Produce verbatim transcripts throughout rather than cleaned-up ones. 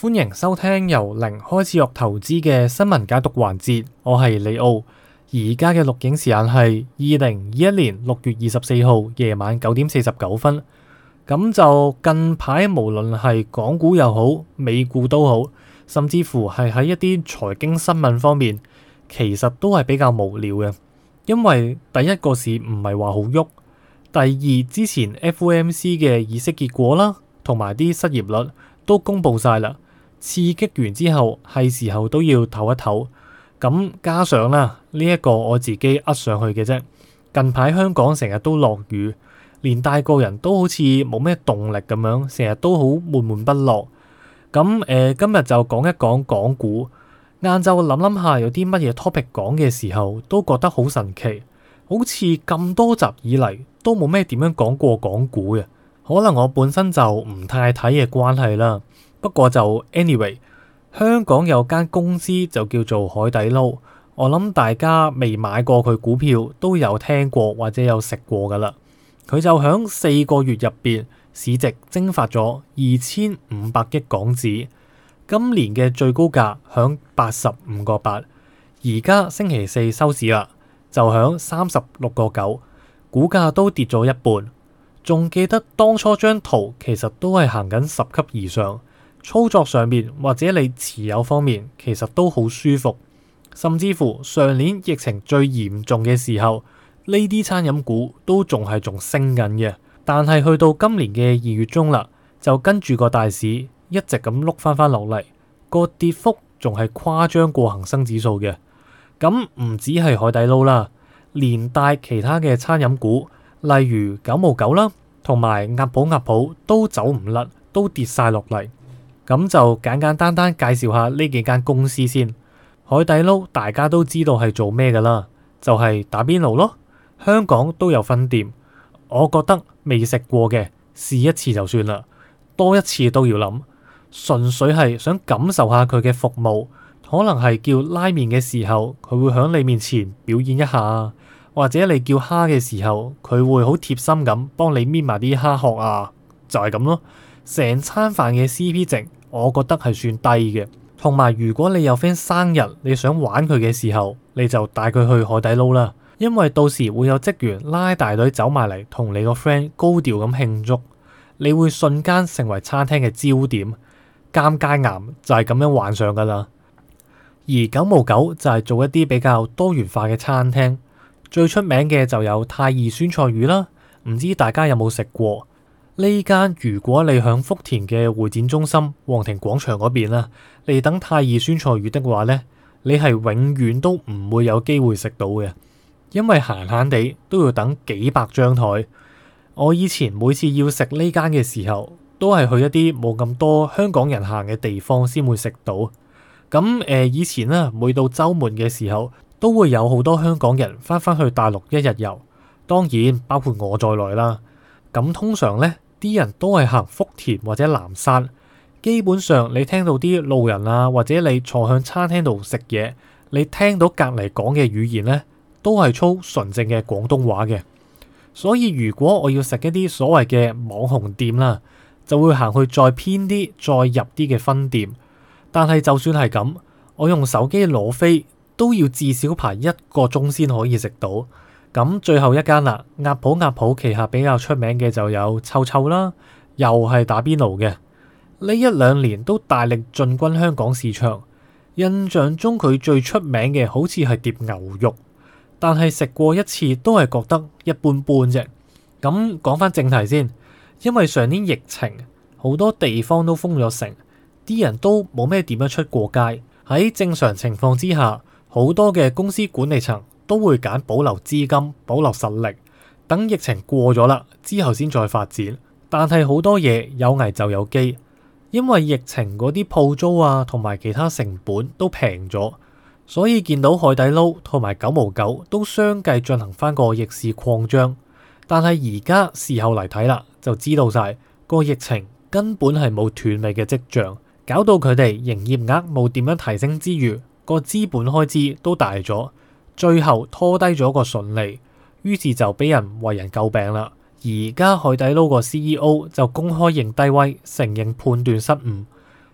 歡迎收聽由零開始學投資嘅新聞解讀環節，我係李奧。而家嘅錄影時間係二零二一年六月二十四號夜晚九點四十九分。咁就近排無論係港股又好，美股都好，甚至乎係喺一啲財經新聞方面，其實都係比較無聊嘅。因為第一個市唔係話好喐，第二之前 F O M C 嘅議息結果啦，同埋啲失業率都公布晒啦。刺激完之後係時候都要唞一唞，咁加上啦呢一個我自己呃上去嘅啫。近排香港成日都落雨，連帶個人都好似冇咩動力咁樣，成日都好悶悶不樂。咁誒、呃、今日就講一講港股。晏晝諗諗下有啲乜嘢 topic 講嘅時候，都覺得好神奇，好似咁多集以嚟都冇咩點樣講過港股嘅。可能我本身就唔太睇嘅關係啦。不過就 anyway， 香港有間公司就叫做海底撈，我諗大家未買過佢股票都有聽過或者有食過噶啦。佢就響四個月入邊市值蒸發咗二千五百億港紙，今年嘅最高價響八十五個八，而家星期四收市啦，就響三十六個九，股價都跌咗一半。仲記得當初張圖其實都係行緊十級以上。操作上面或者你持有方面其實都好舒服，甚至乎上年疫情最嚴重嘅時候，呢啲餐飲股都仲係仲升緊嘅。但係去到今年嘅二月中啦，就跟住個大市一直咁碌翻翻落嚟，個跌幅仲係誇張過恒生指數嘅。咁唔止係海底撈啦，連帶其他嘅餐飲股，例如九毛九啦，同埋鴨鋪鴨鋪都走唔甩，都跌晒落嚟。咁就簡簡單單介紹下呢幾間公司先。海底撈大家都知道係做咩噶啦，就係打邊爐咯。香港都有分店，我覺得未食過嘅試一次就算啦，多一次都要諗。純粹係想感受下佢嘅服務，可能係叫拉麵嘅時候，佢會響你面前表演一下，或者你叫蝦嘅時候，佢會好貼心咁幫你搣埋啲蝦殼啊，就係咁咯。成餐飯嘅 C P 值，我覺得係算低嘅。同埋如果你有 friend 生日，你想玩佢嘅時候，你就帶佢去海底撈啦。因為到時會有職員拉大隊走埋嚟同你個 friend 高調咁慶祝，你會瞬間成為餐廳嘅焦點。尷尬癌就係咁樣幻想噶啦。而九毛九就係做一啲比較多元化嘅餐廳，最出名嘅就有太二酸菜魚啦，唔知大家有冇食過？呢間如果你響福田嘅會展中心皇庭廣場嗰邊啦，你等太二酸菜魚的話呢，你係永遠都唔會有機會食到嘅，因為閒閒地都要等幾百張台。我以前每次要食呢間嘅時候，都係去一啲冇咁多香港人行嘅地方先會食到。咁誒、呃，以前呢，每到周末嘅時候，都會有好多香港人翻返去大陸一日遊，當然包括我在內啦。咁通常呢，啲人都係行福田或者南山，基本上你聽到啲路人啊，或者你坐向餐廳度食嘢，你聽到隔籬講嘅語言呢，都係操純正嘅廣東話嘅。所以如果我要食一啲所謂嘅網紅店啦，就會行去再偏啲、再入啲嘅分店。但係就算係咁，我用手機攞飛都要至少排一個鐘先可以食到。咁最後一間啦，鴨鋪鴨鋪旗下比較出名嘅就有臭臭啦，又係打邊爐嘅。呢一兩年都大力進軍香港市場。印象中佢最出名嘅好似係碟牛肉，但係食過一次都係覺得一般般啫。咁講翻正題先，因為上年疫情好多地方都封咗城，啲人都冇咩點樣出過街。喺正常情況之下，好多嘅公司管理層都會揀保留資金、保留實力，等疫情過咗啦之後先再發展。但係好多嘢有危就有機，因為疫情嗰啲鋪租啊同埋其他成本都平咗，所以見到海底撈同埋九毛九都相繼進行翻個逆市擴張。但係而家事後嚟睇啦，就知道晒個疫情根本係冇斷尾嘅跡象，搞到佢哋營業額冇點樣提升之餘，個資本開支都大咗。最後拖低咗個純利，於是就俾人為人詬病啦。而家海底撈個 C E O 就公開認低威，承認判斷失誤。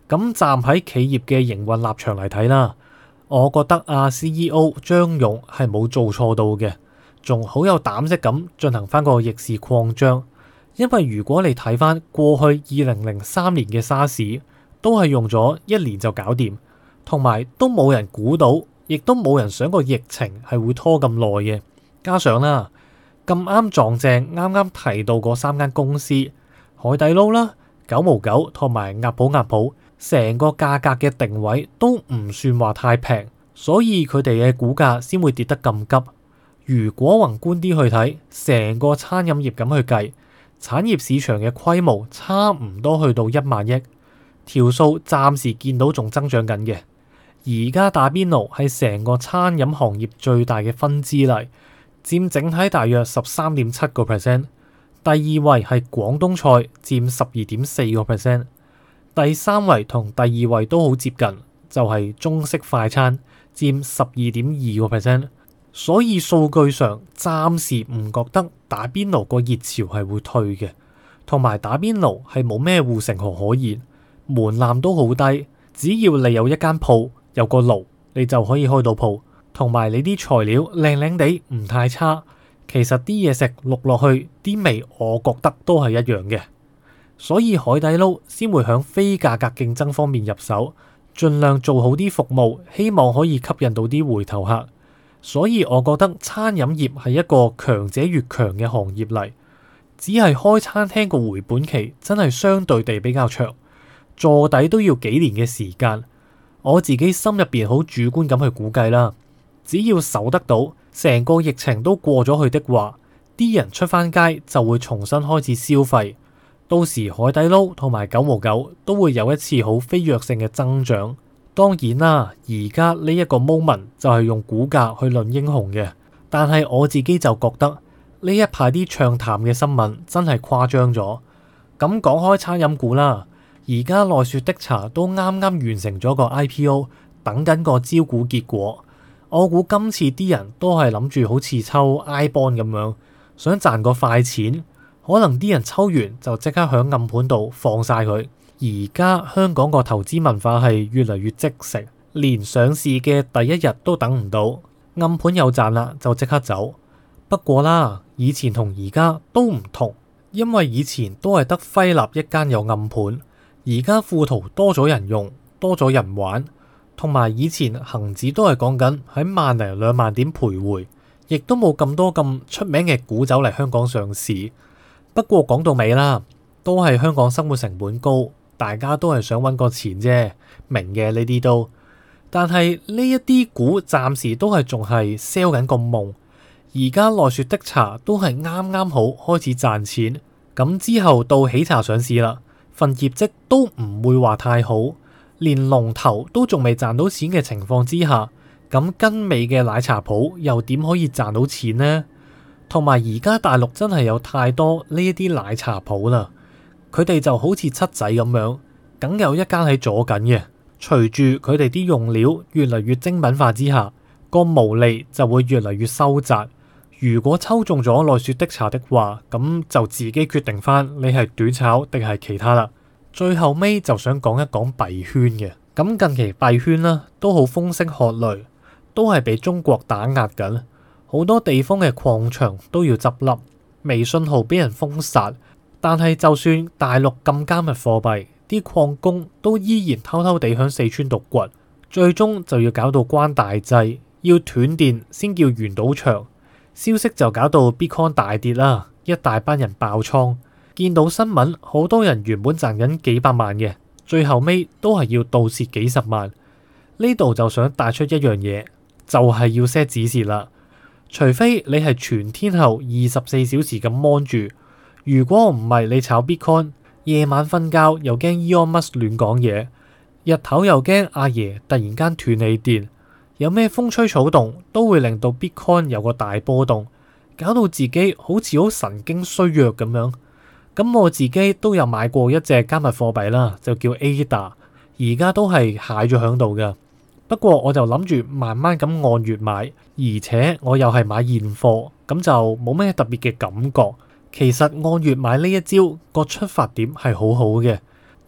咁站喺企業嘅營運立場嚟睇啦，我覺得阿 C E O 張勇係冇做錯到嘅，仲好有膽識咁進行翻個逆市擴張。因為如果你睇翻過去二零零三年嘅沙士，都係用咗一年就搞掂，同埋都冇人估到，亦都冇人想過疫情係會拖咁耐嘅。加上啦，咁啱撞正啱啱提到嗰三間公司，海底撈啦、九毛九同埋鴨普鴨普，成個價格嘅定位都唔算話太平，所以佢哋嘅股價先會跌得咁急。如果宏觀啲去睇，成個餐飲業咁去計，產業市場嘅規模差唔多去到一萬億，條數暫時見到仲增長緊嘅。而家打邊爐係成個餐飲行業最大嘅分支嚟，佔整體大約十三點七個 percent。第二位係廣東菜，佔十二點四個 percent。第三位同第二位都好接近，就係、是、中式快餐，佔十二點二個 percent。所以數據上暫時唔覺得打邊爐個熱潮係會退嘅，同埋打邊爐係冇咩護城河可言，門檻都好低，只要你有一間鋪有個爐，你就可以開到鋪，同埋你啲材料靚靚地唔太差，其實啲嘢食淥落去啲味，我覺得都係一樣嘅。所以海底撈先會響非價格競爭方面入手，盡量做好啲服務，希望可以吸引到啲回頭客。所以我覺得餐飲業係一個強者越強嘅行業嚟，只係開餐廳個回本期真係相對地比較長，坐底都要幾年嘅時間。我自己心入邊好主觀咁去估計啦，只要守得到，成個疫情都過咗去的話，啲人出翻街就會重新開始消費，到時海底撈同埋九毛九都會有一次好飛躍性嘅增長。當然啦，而家呢一個 moment 就係用股價去論英雄嘅，但係我自己就覺得呢一排啲唱淡嘅新聞真係誇張咗。咁講開餐飲股啦，而家奈雪的茶都啱啱完成咗個 I P O， 等緊個招股結果。我估今次啲人都係諗住好似抽 I bond 咁樣，想賺個快錢，可能啲人抽完就即刻響暗盤度放晒佢。而家香港個投資文化係越嚟越即食，連上市嘅第一日都等唔到，暗盤有賺啦就即刻走。不過啦，以前同而家都唔同，因為以前都係得輝立一間有暗盤，而家富途多咗人用，多咗人玩，同埋以前恒指都係講緊喺萬零兩萬點徘徊，亦都冇咁多咁出名嘅股走嚟香港上市。不過講到尾啦，都係香港生活成本高。大家都係想揾個錢啫，明嘅呢啲都。但係呢一啲股暫時都係仲係 sell 緊個夢。而家奈雪的茶都係啱啱好開始賺錢，咁之後到喜茶上市啦，份業績都唔會話太好，連龍頭都仲未賺到錢嘅情況之下，咁跟尾嘅奶茶鋪又點可以賺到錢呢？同埋而家大陸真係有太多呢一啲奶茶鋪啦。佢哋就好似七仔咁樣，梗有一間喺左緊嘅。隨住佢哋啲用料越嚟越精品化之下，個毛利就會越嚟越收窄。如果抽中咗奈雪的茶的話，咁就自己決定翻你係短炒定係其他啦。最後尾就想講一講幣圈嘅。咁近期幣圈啦都好風聲鶴唳，都係被中國打壓緊，好多地方嘅礦場都要執笠，微信號俾人封殺。但係就算大陸禁加密貨幣，啲礦工都依然偷偷地響四川度掘，最終就要搞到關大制，要斷電先叫圓到場。消息就搞到 Bitcoin 大跌啦，一大班人爆倉。見到新聞，好多人原本賺緊幾百萬嘅，最後尾都係要倒蝕幾十萬。呢度就想帶出一樣嘢，就係要 set 止蝕啦。除非你係全天候二十四小時咁 mon 住。如果唔係你炒 Bitcoin， 夜晚瞓覺又驚 Elon Musk 亂講嘢，日頭又驚阿爺突然間斷你電，有咩風吹草動都會令到 Bitcoin 有個大波動，搞到自己好似好神經衰弱咁樣。咁我自己都有買過一隻加密貨幣啦，就叫 A D A， 而家都係蟹咗響度噶。不過我就諗住慢慢咁按月買，而且我又係買現貨，咁就冇咩特別嘅感覺。其實按月買呢一招個出發點係好好嘅，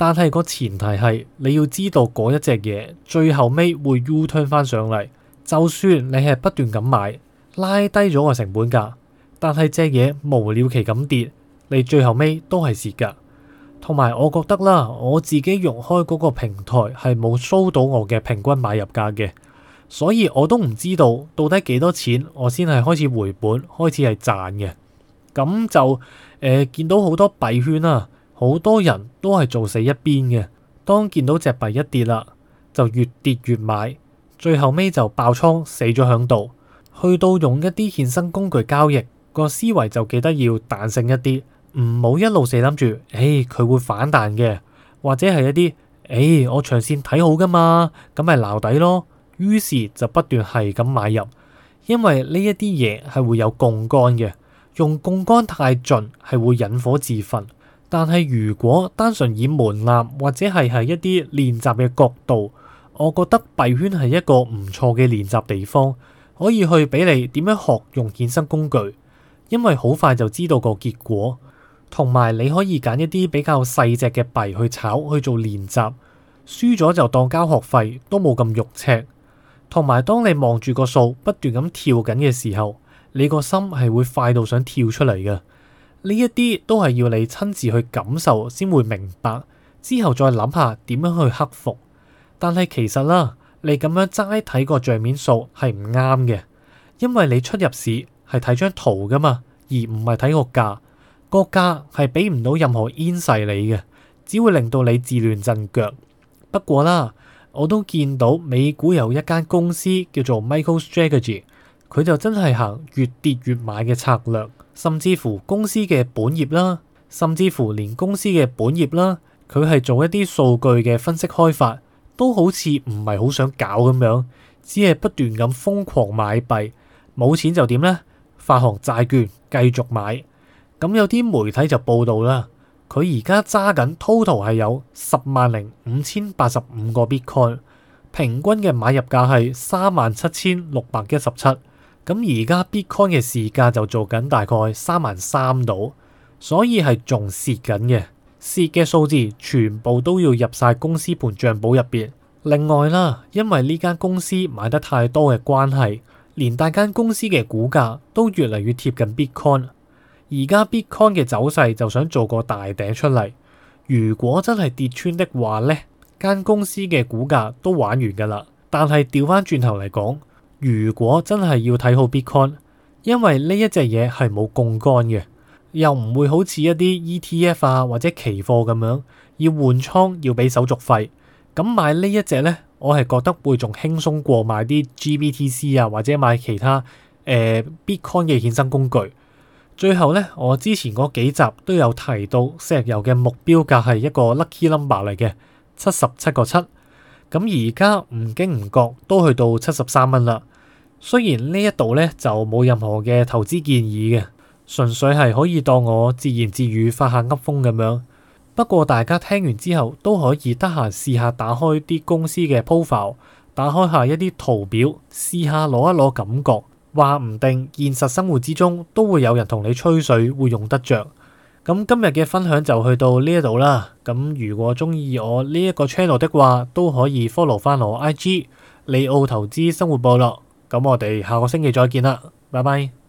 但係個前提係你要知道嗰一隻嘢最後尾會 U turn 翻上嚟。就算你係不斷咁買，拉低咗個成本價，但係隻嘢無了期咁跌，你最後尾都係蝕噶。同埋我覺得啦，我自己用開嗰個平台係冇 show 到我嘅平均買入價嘅，所以我都唔知道到底幾多錢我先係開始回本，開始係賺嘅。咁就誒、呃、見到好多幣圈啊，好多人都係做死一邊嘅。當見到隻幣一跌啦，就越跌越買，最後尾就爆倉死咗響度。去到用一啲衍生工具交易，個思維就記得要彈性一啲。唔好一路死諗住，誒、哎、佢會反彈嘅，或者係一啲，誒、哎、我長線睇好噶嘛，咁咪撈底咯。於是就不斷係咁買入，因為呢一啲嘢係會有槓桿嘅，用槓桿太盡係會引火自焚。但係如果單純以門檻或者係喺一啲練習嘅角度，我覺得幣圈係一個唔錯嘅練習地方，可以去俾你點樣學用衍生工具，因為好快就知道個結果。同埋你可以揀一啲比較細隻嘅幣去炒去做練習，輸咗就當交學費，都冇咁肉赤。同埋當你望住個數不斷咁跳緊嘅時候，你個心係會快到想跳出嚟嘅。呢一啲都係要你親自去感受先會明白，之後再諗下點樣去克服。但係其實啦，你咁樣齋睇個賬面數係唔啱嘅，因為你出入市係睇張圖噶嘛，而唔係睇個價。個價係俾唔到任何 insight 你嘅，只會令到你自亂陣腳。不過啦，我都見到美股有一間公司叫做 MicroStrategy， 佢就真係行越跌越買嘅策略，甚至乎公司嘅本業啦，甚至乎連公司嘅本業啦，佢係做一啲數據嘅分析開發，都好似唔係好想搞咁樣，只係不斷咁瘋狂買幣，冇錢就點呢？發行債券繼續買。咁有啲媒體就報道啦，佢而家揸緊 total 係有十萬零五千八十五個 Bitcoin， 平均嘅買入價係三萬七千六百一十七。咁而家 Bitcoin 嘅市價就做緊大概三萬三度，所以係仲蝕緊嘅，蝕嘅數字全部都要入晒公司盤賬簿入邊。另外啦，因為呢間公司買得太多嘅關係，連大間公司嘅股價都越嚟越貼近 Bitcoin。而家 Bitcoin 嘅走勢就想做個大頂出嚟，如果真係跌穿的話呢，間公司嘅股價都玩完噶啦。但係調翻轉頭嚟講，如果真係要睇好 Bitcoin，因為呢一隻嘢係冇槓桿嘅，又唔會好似一啲 E T F 啊或者期貨咁樣要換倉要俾手續費，咁買呢一隻呢，我係覺得會仲輕鬆過買啲 G B T C 啊或者買其他誒、呃、Bitcoin 嘅衍生工具。最後咧，我之前嗰幾集都有提到石油嘅目標價係一個 lucky number 嚟嘅，七十七個七。咁而家唔經唔覺都去到七十三蚊啦。雖然呢一度咧就冇任何嘅投資建議嘅，純粹係可以當我自言自語發下噏風咁樣。不過大家聽完之後都可以得閒試下打開啲公司嘅 profile， 打開下一啲圖表，試下攞一攞感覺。話唔定現實生活之中都會有人同你吹水，會用得着。咁今日嘅分享就去到呢一度啦。咁如果中意我呢一個 channel 的話，都可以 follow 翻我 I G 利奧投資生活部落。咁我哋下個星期再見啦，拜拜。